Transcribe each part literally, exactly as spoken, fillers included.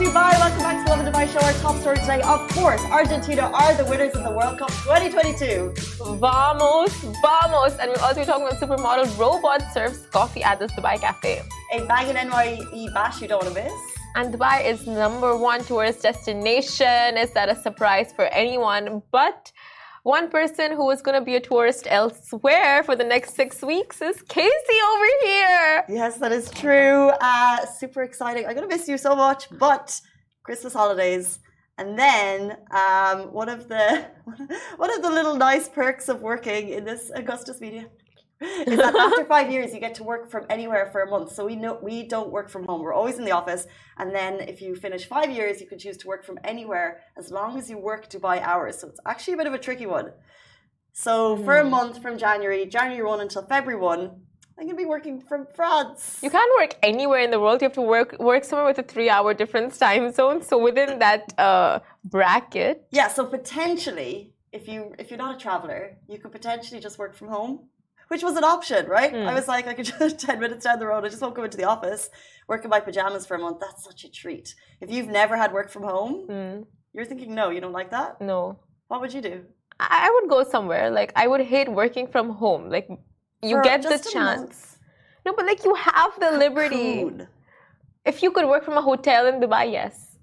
Dubai. Welcome back to the Lovin Dubai show. Our top story today, of course, Argentina are the winners of the World Cup twenty twenty-two. Vamos, vamos. And we'll also be talking about supermodel robot serves coffee at this Dubai cafe. A banging N Y E bash you don't want to miss. And Dubai is number one tourist destination. Is that a surprise for anyone? But one person who is going to be a tourist elsewhere for the next six weeks is Casey over here. Yes, that is true. Uh, super exciting. I'm going to miss you so much, but Christmas holidays. And then um, one of the one of the little nice perks of working in this Augustus Media is that after five years you get to work from anywhere for a month. So we know we don't work from home. We're always in the office. And then if you finish five years, you can choose to work from anywhere as long as you work Dubai hours. So it's actually a bit of a tricky one. So for a month from January, January first until February first, I'm going to be working from France. You can't work anywhere in the world. You have to work work somewhere with a three-hour difference time zone. So within that uh, bracket. Yeah, so potentially, if, you, if you're not a traveler, you could potentially just work from home. Which was an option, right? Mm. I was like, I could just ten minutes down the road, I just won't go into the office, work in my pajamas for a month. That's such a treat. If you've never had work from home, mm. you're thinking, no, you don't like that? No. What would you do? I would go somewhere. Like, I would hate working from home. Like, you for get the chance. No, but like, you have the liberty. Cocoon. If you could work from a hotel in Dubai, yes.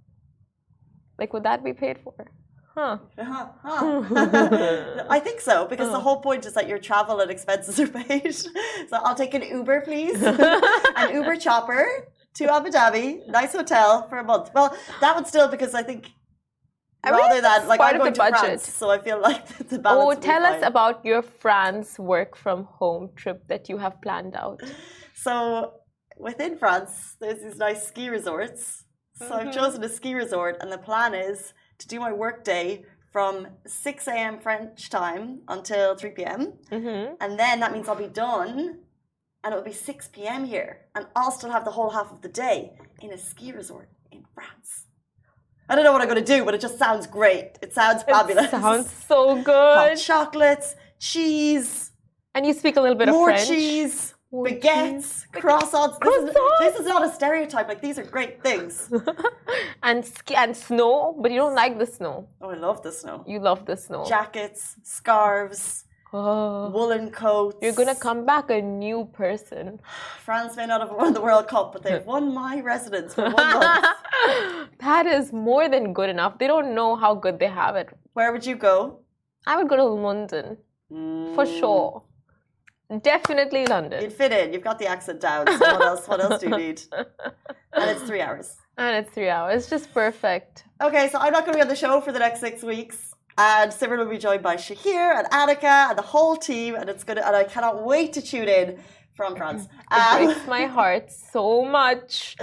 Like, would that be paid for? Huh. Uh-huh. Huh. I think so, because uh-huh. the whole point is that your travel and expenses are paid. So I'll take an Uber, please. An Uber chopper to Abu Dhabi, nice hotel for a month. Well, that would still, because I think I rather than, like, I'm going to budget. France, so I feel like the balance. Oh, tell us about your France work from home trip that you have planned out. So within France, there's these nice ski resorts. So mm-hmm. I've chosen a ski resort, and the plan is to do my work day from six a.m. French time until three p.m. Mm-hmm. And then that means I'll be done and it'll be six p.m. here. And I'll still have the whole half of the day in a ski resort in France. I don't know what I'm going to do, but it just sounds great. It sounds fabulous. It sounds so good. Hot chocolates, cheese. And you speak a little bit more of French. Cheese. Baguettes, croissants. This is, this is not a stereotype. Like, these are great things. and ski and snow, but you don't like the snow. Oh, I love the snow. You love the snow. Jackets, scarves, oh. woolen coats. You're gonna come back a new person. France may not have won the World Cup, but they've won my residence for one month. That is more than good enough. They don't know how good they have it. Where would you go? I would go to London, mm. for sure. Definitely London. You'd fit in. You've got the accent down. So what else? What else do you need? And it's three hours. And it's three hours. Just perfect. Okay, so I'm not going to be on the show for the next six weeks. And Simran will be joined by Shahir and Annika and the whole team. And it's gonna. And I cannot wait to tune in from France. It um, breaks my heart so much,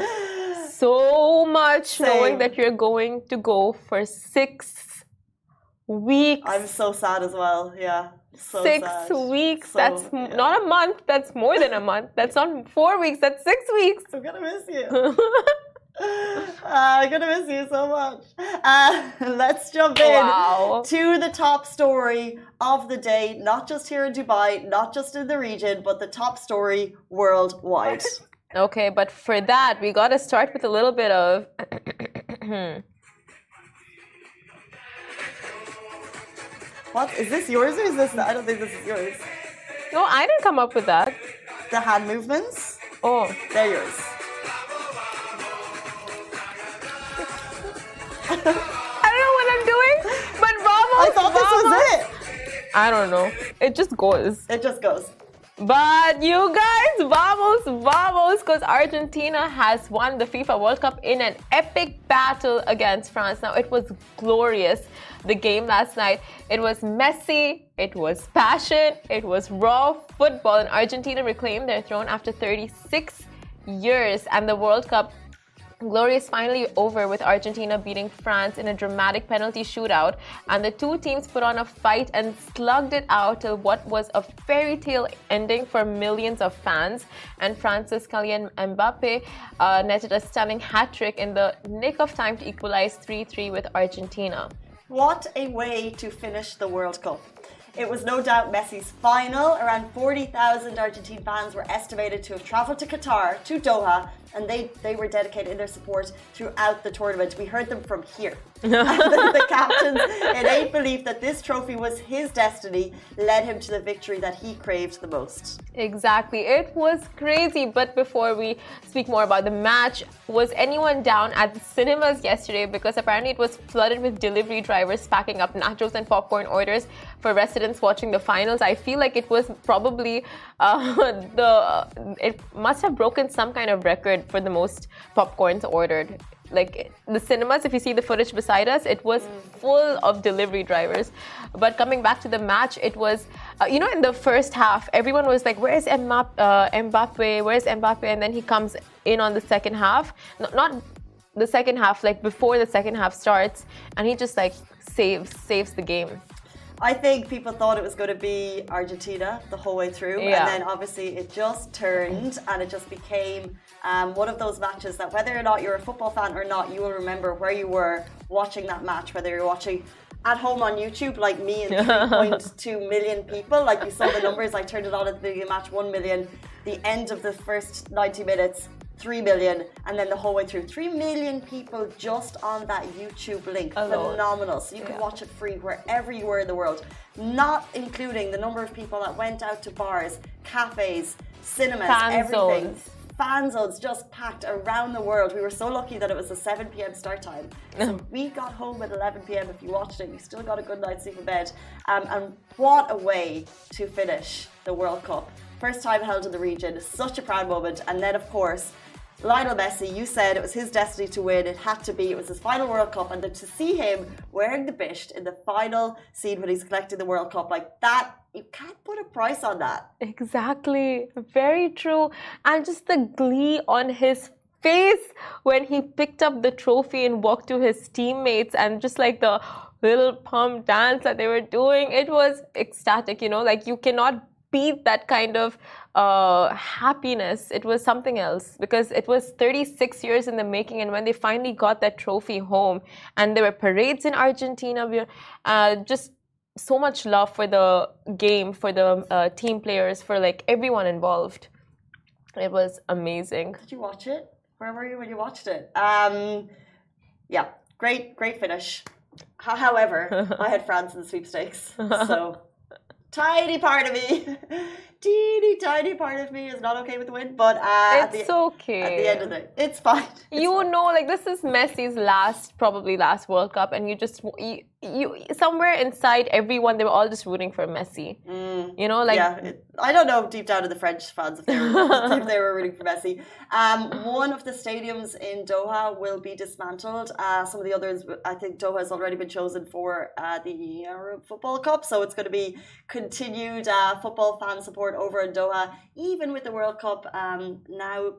so much, Same. knowing that you're going to go for six weeks. I'm so sad as well. Yeah. So six sad. weeks. So, that's yeah. not a month. That's more than a month. That's not four weeks. That's six weeks. I'm gonna miss you. uh, I'm gonna miss you so much. Uh, let's jump in wow. to the top story of the day. Not just here in Dubai, not just in the region, but the top story worldwide. Okay, but for that, we gotta start with a little bit of. What? Is this yours or is this... I don't think this is yours. No, I didn't come up with that. The hand movements? Oh. They're yours. I don't know what I'm doing, but vamos, I thought vamos. this was it. I don't know. It just goes. It just goes. But you guys, vamos, vamos, because Argentina has won the FIFA World Cup in an epic battle against France. Now, it was glorious, the game last night. It was messy, it was passion, it was raw football, and Argentina reclaimed their throne after thirty-six years. And the World Cup glory is finally over, with Argentina beating France in a dramatic penalty shootout, and the two teams put on a fight and slugged it out till what was a fairy tale ending for millions of fans. And France's Kylian Mbappe uh, netted a stunning hat-trick in the nick of time to equalize three three with Argentina. What a way to finish the World Cup. It was no doubt Messi's final. Around forty thousand Argentine fans were estimated to have travelled to Qatar, to Doha, and they, they were dedicated in their support throughout the tournament. We heard them from here. the, the captain's innate belief that this trophy was his destiny led him to the victory that he craved the most. Exactly. It was crazy. But before we speak more about the match, was anyone down at the cinemas yesterday? Because apparently it was flooded with delivery drivers packing up nachos and popcorn orders for residents watching the finals. I feel like it was probably uh, the it must have broken some kind of record for the most popcorns ordered. Like the cinemas, if you see the footage beside us, it was full of delivery drivers. But coming back to the match, it was, uh, you know, in the first half, everyone was like, where's Mbappe, uh, Mbappe, where's Mbappe? And then he comes in on the second half. No, not the second half, like before the second half starts. And he just like saves, saves the game. I think people thought it was going to be Argentina the whole way through. Yeah. And then obviously it just turned and it just became um, one of those matches that whether or not you're a football fan or not, you will remember where you were watching that match, whether you're watching at home on YouTube like me and three point two million people. Like you saw the numbers, I turned it on at the beginning of the match, one million. The end of the first ninety minutes, three million, and then the whole way through. three million people just on that YouTube link. Alone. Phenomenal. So you can Yeah. watch it free wherever you were in the world. Not including the number of people that went out to bars, cafes, cinemas, Fan everything. zones. Fan zones just packed around the world. We were so lucky that it was a seven p.m. start time. So we got home at eleven p.m. If you watched it, you still got a good night's sleep in bed. Um, and what a way to finish the World Cup. First time held in the region. Such a proud moment. And then, of course, Lionel Messi, you said it was his destiny to win. It had to be. It was his final World Cup. And then to see him wearing the bisht in the final scene when he's collecting the World Cup, like that, you can't put a price on that. Exactly. Very true. And just the glee on his face when he picked up the trophy and walked to his teammates and just like the little pump dance that they were doing. It was ecstatic, you know, like you cannot beat that kind of uh, happiness. It was something else because it was thirty-six years in the making, and when they finally got that trophy home and there were parades in Argentina, we, uh, just so much love for the game, for the uh, team players, for like everyone involved. It was amazing. Did you watch it? Where were you when you watched it? Um, yeah, great, great finish. H- however, I had France in the sweepstakes, so tiny part of me, teeny tiny part of me is not okay with the win. But uh, at It's the, okay. At the end of the day, it's fine. It's You fine. know, like this is Messi's last, probably last World Cup, and you just you, you somewhere inside everyone, they were all just rooting for Messi. Mm. You know, like yeah, it, I don't know deep down in the French fans if they were, if they were rooting for Messi. Um, one of the stadiums in Doha will be dismantled. Uh, some of the others, I think Doha has already been chosen for uh, the Arab Football Cup, so it's going to be continued uh, football fan support over in Doha, even with the World Cup um, now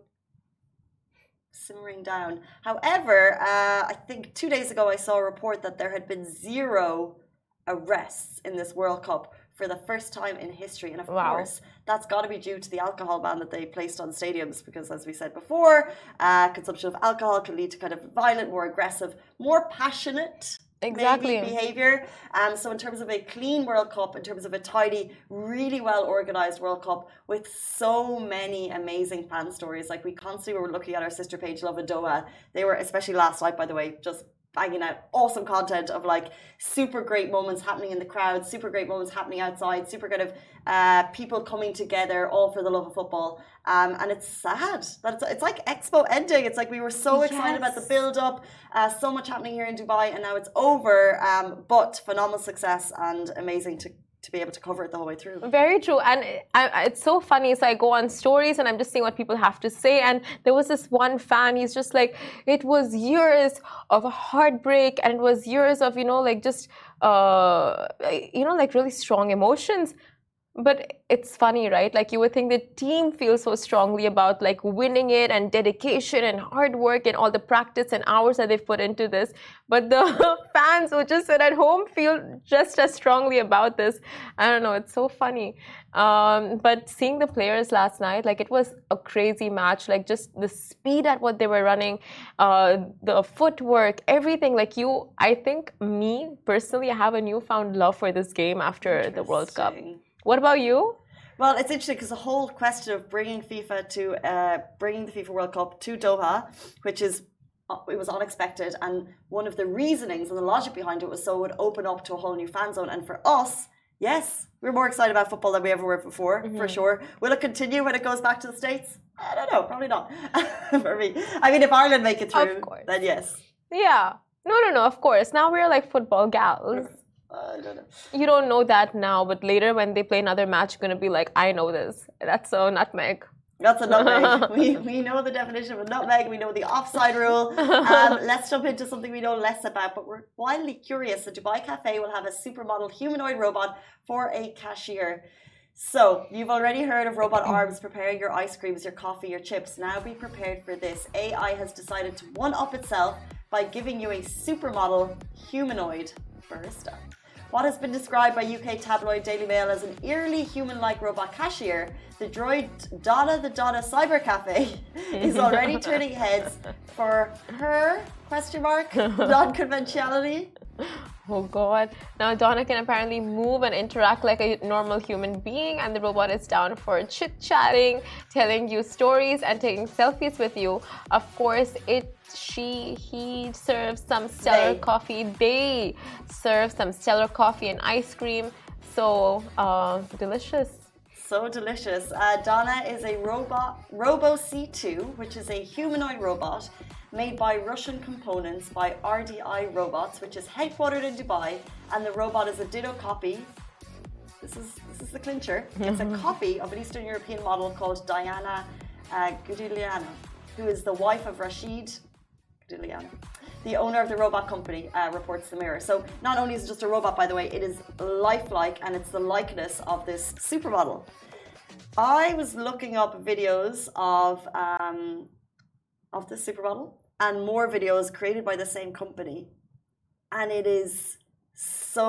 simmering down. However, uh, I think two days ago I saw a report that there had been zero arrests in this World Cup for the first time in history. And of Wow. course, that's got to be due to the alcohol ban that they placed on stadiums because, as we said before, uh, consumption of alcohol can lead to kind of violent, more aggressive, more passionate Exactly. maybe behavior. Um, so in terms of a clean World Cup, in terms of a tidy, really well organized World Cup with so many amazing fan stories. Like we constantly were looking at our sister page, Love and Doha. They were, especially last night, by the way, just banging out awesome content of like super great moments happening in the crowd, super great moments happening outside, super kind of uh, people coming together all for the love of football. Um, and it's sad that it's, it's like Expo ending. It's like we were so excited about the Yes. build up, uh, so much happening here in Dubai, and now it's over. Um, but phenomenal success and amazing to to be able to cover it the whole way through. Very true. And I, I, it's so funny. So I go on stories and I'm just seeing what people have to say. And there was this one fan, he's just like, it was years of heartbreak and it was years of, you know, like just, uh, you know, like really strong emotions. But it's funny, right? Like you would think the team feels so strongly about like winning it and dedication and hard work and all the practice and hours that they've put into this. But the fans who just sit at home feel just as strongly about this. I don't know. It's so funny. Um, but seeing the players last night, like it was a crazy match. Like just the speed at what they were running, uh, the footwork, everything. Like you, I think me personally, I have a newfound love for this game after the World Cup. Interesting. What about you? Well, it's interesting because the whole question of bringing FIFA to uh, bringing the FIFA World Cup to Doha, which is it was unexpected, and one of the reasonings and the logic behind it was so it would open up to a whole new fan zone. And for us, yes, we're more excited about football than we ever were before, mm-hmm. for sure. Will it continue when it goes back to the States? I don't know, probably not. For me, I mean, if Ireland make it through, then yes. Yeah, no, no, no. Of course, now we're like football gals. I don't know. You don't know that now, but later when they play another match, you're gonna be like, I know this. That's a nutmeg. That's a nutmeg. we, we know the definition of a nutmeg. We know the offside rule. Um, let's jump into something we know less about, but we're wildly curious. The Dubai Cafe will have a supermodel humanoid robot for a cashier. So, you've already heard of robot arms preparing your ice creams, your coffee, your chips. Now be prepared for this. A I has decided to one-up itself by giving you a supermodel humanoid barista. What has been described by U K tabloid Daily Mail as an eerily human-like robot cashier, the droid Donna the Donna Cyber Cafe is already turning heads for her, question mark, non-conventionality. Oh God. Now Donna can apparently move and interact like a normal human being, and the robot is down for chit-chatting, telling you stories and taking selfies with you. Of course, it she, he serves some stellar they. coffee. They serve some stellar coffee and ice cream. So uh, delicious. So delicious. Uh, Donna is a robot, Robo C two, which is a humanoid robot made by Russian components by R D I Robots, which is headquartered in Dubai, and the robot is a ditto copy. This is this is the clincher. It's a copy of an Eastern European model called Diana uh, Gudiliana, who is the wife of Rashid Gudiliana, the owner of the robot company, uh, reports the Mirror. So not only is it just a robot, by the way, it is lifelike, and it's the likeness of this supermodel. I was looking up videos of um, of this supermodel and more videos created by the same company, and it is so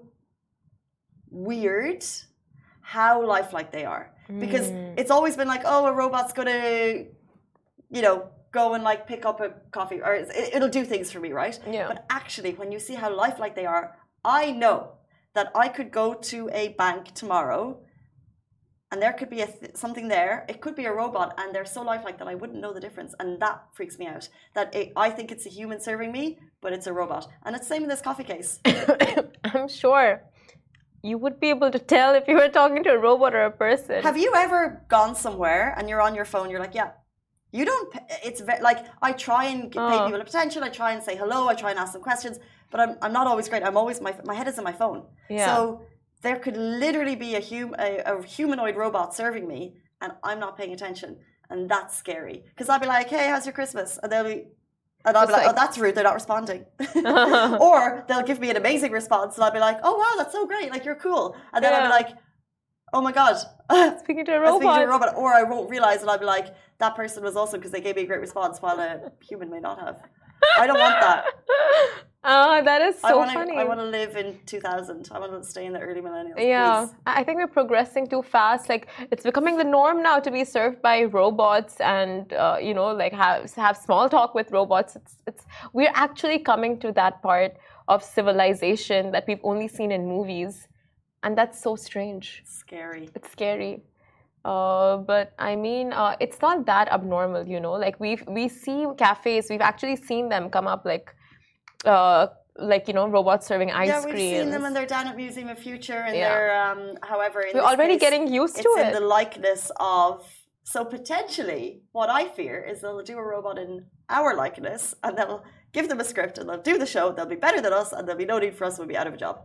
weird how lifelike they are, because mm. it's always been like, oh, a robot's gonna, you know, go and like pick up a coffee, or it, it'll do things for me, right? Yeah. But actually, when you see how lifelike they are, I know that I could go to a bank tomorrow and there could be a th- something there. It could be a robot, and they're so lifelike that I wouldn't know the difference, and that freaks me out. That it, I think it's a human serving me, but it's a robot, and it's the same in this coffee case. I'm sure you would be able to tell if you were talking to a robot or a person. Have you ever gone somewhere and you're on your phone? You're like, yeah, you don't. It's very, like I try and pay Oh. people attention. I try and say hello. I try and ask them questions, but I'm I'm not always great. I'm always my my head is in my phone. Yeah. So there could literally be a, hum, a, a humanoid robot serving me, and I'm not paying attention, and that's scary. Because I'll be like, "Hey, how's your Christmas?" And they'll be, and I'll be like, like- "Oh, that's rude. They're not responding." Or they'll give me an amazing response, and I'll be like, "Oh wow, that's so great! Like you're cool." And then I'll be Yeah. like, "Oh my god." Speaking to a I'm robot. speaking to a robot, or I won't realize, and I'll be like, "That person was awesome because they gave me a great response," while a human may not have. I don't want that. Oh, that is so I wanna, funny. I want to live in two thousand. I want to stay in the early millennials. Yeah, please. I I think we're progressing too fast. Like it's becoming the norm now to be served by robots, and uh, you know, like have have small talk with robots. It's it's we're actually coming to that part of civilization that we've only seen in movies, and that's so strange. Scary. It's scary. Uh, but I mean, uh, it's not that abnormal, you know. Like we we see cafes, we've actually seen them come up, like, uh, like you know, robots serving ice Yeah, cream. we've seen them, and they're down at Museum of Future, and Yeah. they're, um, however, in We're this already case, getting used to it's in it. the likeness of. So potentially, what I fear is they'll do a robot in our likeness, and they'll give them a script, and they'll do the show. They'll be better than us, and there'll be no need for us. We'll be out of a job.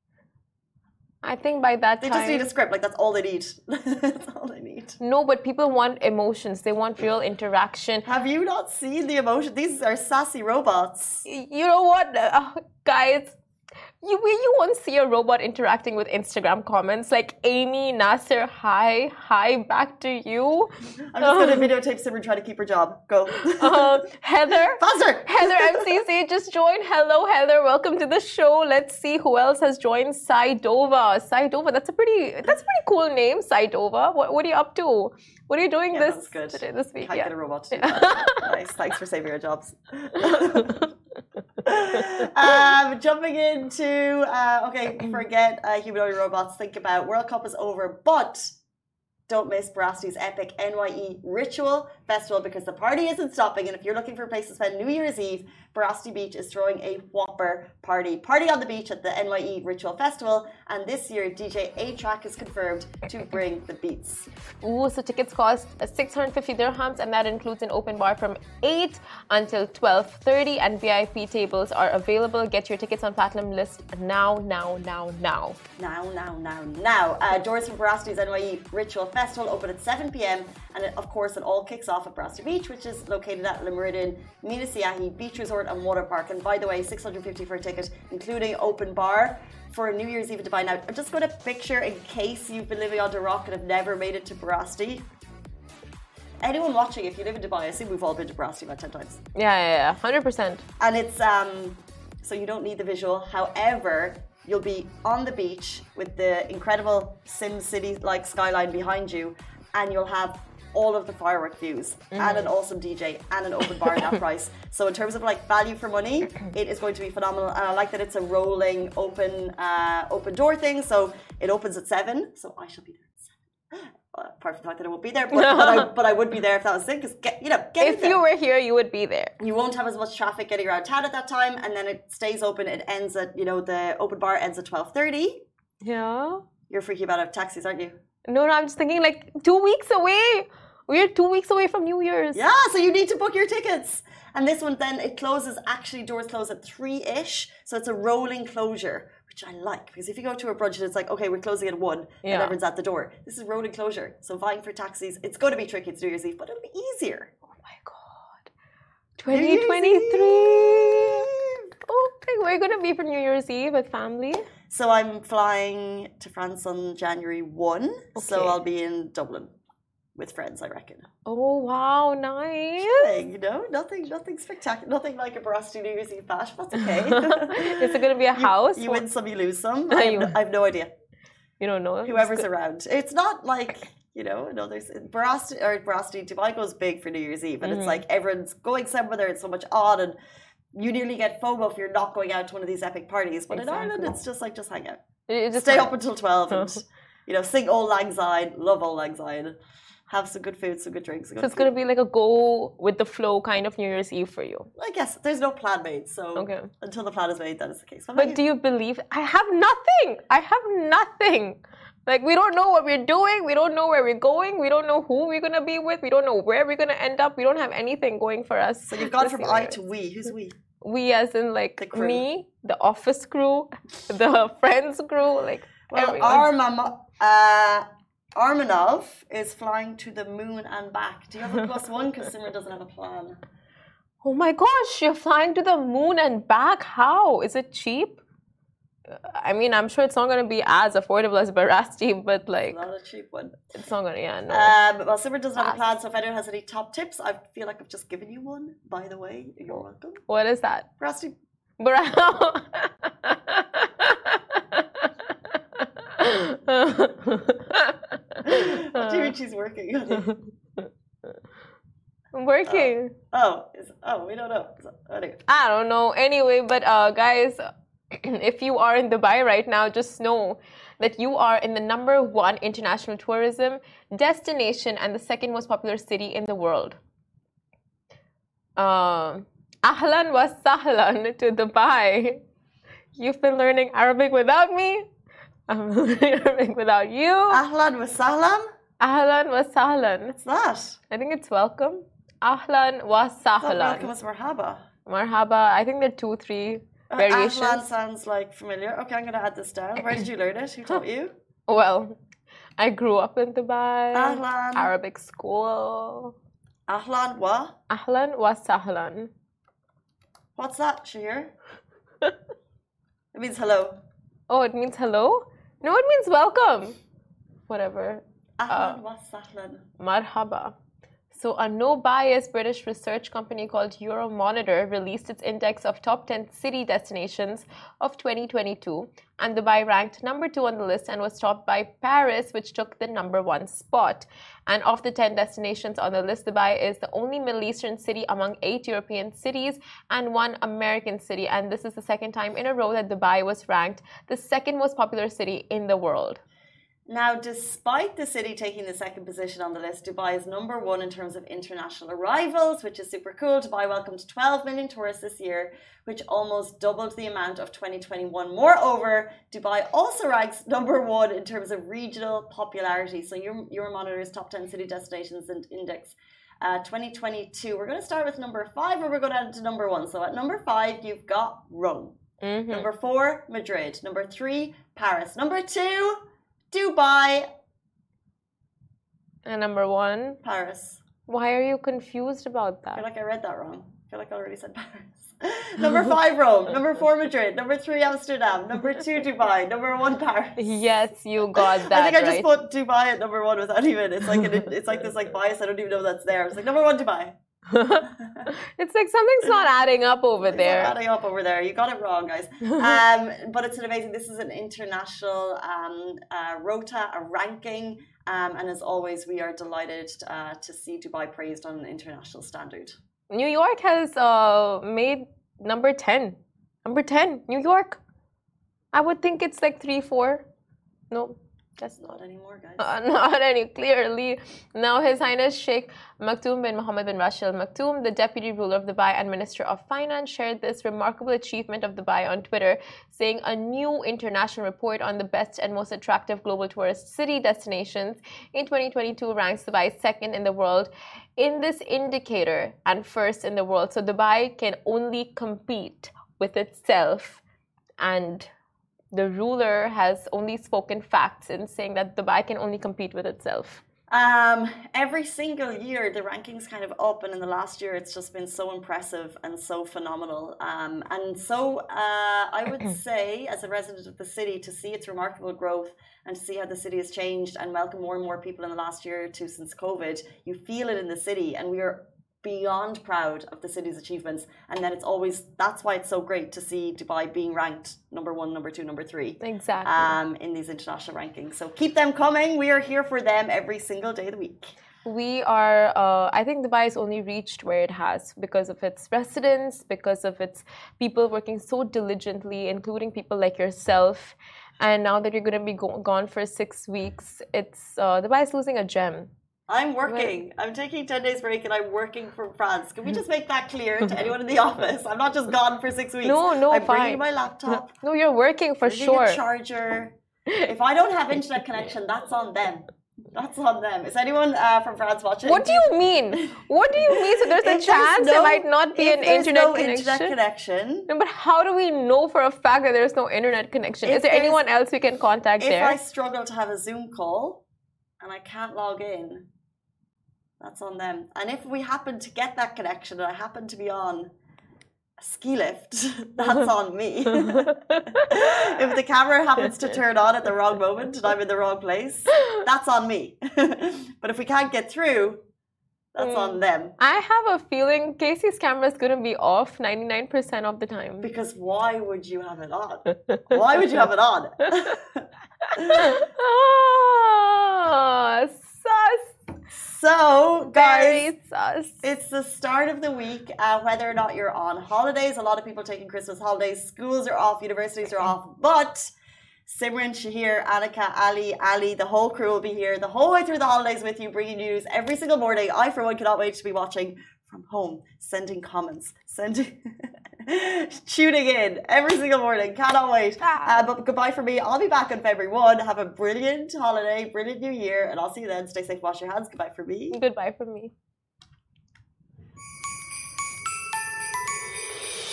I think by that They time, just need a script. Like that's all they need. That's all they need. no, but people want emotions. They want real interaction. Have you not seen the emotion? These are sassy robots. You know what, uh, guys? You you won't see a robot interacting with Instagram comments like Amy Nasser. Hi, hi, back to you. I'm just gonna videotape Simran trying to keep her job. Go. Uh, Heather. Faster. Heather M C C just joined. Hello, Heather. Welcome to the show. Let's see who else has joined. Saidova. Saidova. That's a pretty. That's a pretty cool name, Saidova. What What are you up to? What are you doing Yeah, this that's good. today, this week? Can't Yeah. get a robot to do that. Nice. Thanks for saving our jobs. um, jumping into uh, okay, forget uh, humanoid robots. Think about World Cup is over, but don't miss Barasti's epic N Y E Ritual Festival because the party isn't stopping. And if you're looking for a place to spend New Year's Eve, Barasti Beach is throwing a whopper party. Party on the beach at the N Y E Ritual Festival. And this year, D J A-Track is confirmed to bring the beats. Ooh, so tickets cost six hundred fifty dirhams, and that includes an open bar from eight until twelve thirty, and V I P tables are available. Get your tickets on Platinum List now, now, now, now. Now, now, now, now. Uh, doors for Barasti's N Y E Ritual Festival open at seven p.m. And it, of course, it all kicks off at Barasti Beach, which is located at Le Meridian Mina Siahi Beach Resort and Water Park. And by the way, six hundred fifty for a ticket, including open bar for New Year's Eve in Dubai. Now, I'm just going to picture, in case you've been living under a rock and have never made it to Barasti. Anyone watching, if you live in Dubai, I assume we've all been to Barasti about ten times. Yeah, yeah, yeah, one hundred percent. And it's, um, so you don't need the visual. However, you'll be on the beach with the incredible Sim City-like skyline behind you, and you'll have all of the firework views mm. and an awesome D J and an open bar at that price. So in terms of like value for money, it is going to be phenomenal. And I like that it's a rolling open uh, open door thing. So it opens at seven. So I shall be there at seven. Apart from the fact that I won't be there, but, but, I, but I would be there if that was it. Because get you know, get if you were here, you would be there. You won't have as much traffic getting around town at that time, and then it stays open. It ends at you know the open bar ends at twelve thirty. Yeah. You're freaking about taxis, aren't you? No, no, I'm just thinking like two weeks away. We're two weeks away from New Year's. Yeah, so you need to book your tickets. And this one then, it closes, actually doors close at three-ish. So it's a rolling closure, which I like. Because if you go to a brunch and it's like, okay, we're closing at one, yeah. and everyone's at the door. This is rolling closure. So vying for taxis, it's going to be tricky. It's New Year's Eve, but it'll be easier. Oh my God. twenty twenty-three. Okay, we're going to be for New Year's Eve with family. So I'm flying to France on January first. Okay. So I'll be in Dublin. With friends, I reckon. Oh wow, nice! Chilling, you know, nothing, nothing spectacular, nothing like a Barasti New Year's Eve bash. That's okay. Is it going to be a house? You, you win some, you lose some. I have, no, I have no idea. You don't know. Whoever's around. It's not like you know, no. There's Barasti or Barasti Dubai goes big for New Year's Eve, and mm-hmm. it's like everyone's going somewhere. There, it's so much on, and you nearly get FOMO if you're not going out to one of these epic parties. But exactly. in Ireland, it's just like just hang out, just stay up until twelve, and you know, sing Auld Lang Syne, love Auld Lang Syne. Have some good food, some good drinks. Good so it's going to be like a go with the flow kind of New Year's Eve for you. I guess there's no plan made, so okay. until the plan is made, that is the case. But, but do you believe? I have nothing. I have nothing. Like we don't know what we're doing. We don't know where we're going. We don't know who we're going to be with. We don't know where we're going to end up. We don't have anything going for us. So you've gone from I to we. Who's we? We as in like me, the office crew, the friends crew, like well, everyone. Our mama. Uh, Armanov is flying to the moon and back. Do you have a plus one? Because Simran doesn't have a plan. Oh my gosh, you're flying to the moon and back? How? Is it cheap? I mean, I'm sure it's not going to be as affordable as Barasti, but like... It's not a cheap one. It's not going to, yeah, no. Um, well, Simran doesn't have a plan, so if anyone has any top tips, I feel like I've just given you one, by the way. You're welcome. What is that? Barasti. Barasti. What do you mean she's working? I'm working. Oh, oh, is, oh, we don't know. Anyway. I don't know. Anyway, but uh, guys, if you are in Dubai right now, just know that you are in the number one international tourism destination and the second most popular city in the world. Uh, Ahlan wa sahlan to Dubai. You've been learning Arabic without me. I'm learning Arabic without you. Ahlan wa sahlan? Ahlan wa sahlan. What's that? I think it's welcome. Ahlan wa sahlan. Welcome is marhaba. Marhaba. I think there are two, three uh, variations. Ahlan sounds like familiar. Okay, I'm going to add this down. Where did you learn it? Who taught you? Well, I grew up in Dubai. Ahlan. Arabic school. Ahlan wa? Ahlan wa sahlan. What's that, Shahir? It means hello. Oh, it means hello? No, it means welcome. Whatever. Ahlan wa sahlan. Marhaba. So a no-bias British research company called Euromonitor released its index of top ten city destinations of twenty twenty-two, and Dubai ranked number two on the list and was topped by Paris, which took the number one spot. And of the ten destinations on the list, Dubai is the only Middle Eastern city among eight European cities and one American city. And this is the second time in a row that Dubai was ranked the second most popular city in the world. Now, despite the city taking the second position on the list, Dubai is number one in terms of international arrivals, which is super cool. Dubai welcomed twelve million tourists this year, which almost doubled the amount of twenty twenty-one. Moreover, Dubai also ranks number one in terms of regional popularity. So your Euromonitor's top ten city destinations and index uh, twenty twenty-two. We're going to start with number five, or we're going to add it to number one. So at number five, you've got Rome. Mm-hmm. Number four, Madrid. Number three, Paris. Number two, Dubai. And number one? Paris. Why are you confused about that? I feel like I read that wrong. I feel like I already said Paris. Number five, Rome. Number four, Madrid. Number three, Amsterdam. Number two, Dubai. Number one, Paris. Yes, you got that. I think I right. just put Dubai at number one without even. It's like an, it's like this like bias. I don't even know that's there. It's like number one, Dubai. It's like something's not adding up over it's there. Not adding up over there. You got it wrong, guys. Um, but it's an amazing. This is an international um, uh, rota, a ranking, um, and as always, we are delighted uh, to see Dubai praised on an international standard. New York has uh, made number ten. Number ten, New York. I would think it's like three, four. No. That's not anymore, guys. Uh, not any, clearly. Now, His Highness Sheikh Maktoum bin Mohammed bin Rashid Al Maktoum, the Deputy Ruler of Dubai and Minister of Finance, shared this remarkable achievement of Dubai on Twitter, saying a new international report on the best and most attractive global tourist city destinations in twenty twenty-two ranks Dubai second in the world in this indicator and first in the world. So Dubai can only compete with itself, and the ruler has only spoken facts in saying that Dubai can only compete with itself. Um, every single year, the rankings kind of up, and in the last year, it's just been so impressive and so phenomenal. Um, and so uh, I would say, as a resident of the city, to see its remarkable growth and to see how the city has changed and welcome more and more people in the last year or two since COVID, you feel it in the city, and we are beyond proud of the city's achievements. And then it's always, that's why it's so great to see Dubai being ranked number one, number two, number three. Exactly. Um, in these international rankings. So keep them coming. We are here for them every single day of the week. We are, uh, I think Dubai has only reached where it has because of its residents, because of its people working so diligently, including people like yourself. And now that you're going to be go- gone for six weeks, it's uh, Dubai is losing a gem. I'm working. I'm taking ten days break and I'm working from France. Can we just make that clear to anyone in the office? I'm not just gone for six weeks. No, no, I'm fine. bringing my laptop. No, you're working for bringing sure. A charger. If I don't have internet connection, that's on them. That's on them. Is anyone uh, from France watching? What do you mean? What do you mean? So there's a if chance no, there might not be an internet no connection? internet connection. No, but how do we know for a fact that there's no internet connection? If Is there anyone else we can contact if there? If I struggle to have a Zoom call and I can't log in, that's on them. And if we happen to get that connection and I happen to be on a ski lift, that's on me. If the camera happens to turn on at the wrong moment and I'm in the wrong place, that's on me. But if we can't get through, that's mm. on them. I have a feeling Casey's camera is going to be off ninety-nine percent of the time. Because why would you have it on? Why would you have it on? Oh, sus. So, guys, sus. It's the start of the week. Uh, whether or not you're on holidays, a lot of people are taking Christmas holidays. Schools are off, universities are off. But Simran, Shahir, Annika, Ali, Ali, the whole crew will be here the whole way through the holidays with you, bringing news every single morning. I, for one, cannot wait to be watching from home, sending comments, sending, tuning in every single morning. Cannot wait. Uh, but goodbye from me. I'll be back on February first. Have a brilliant holiday, brilliant new year, and I'll see you then. Stay safe, wash your hands. Goodbye from me. Goodbye from me.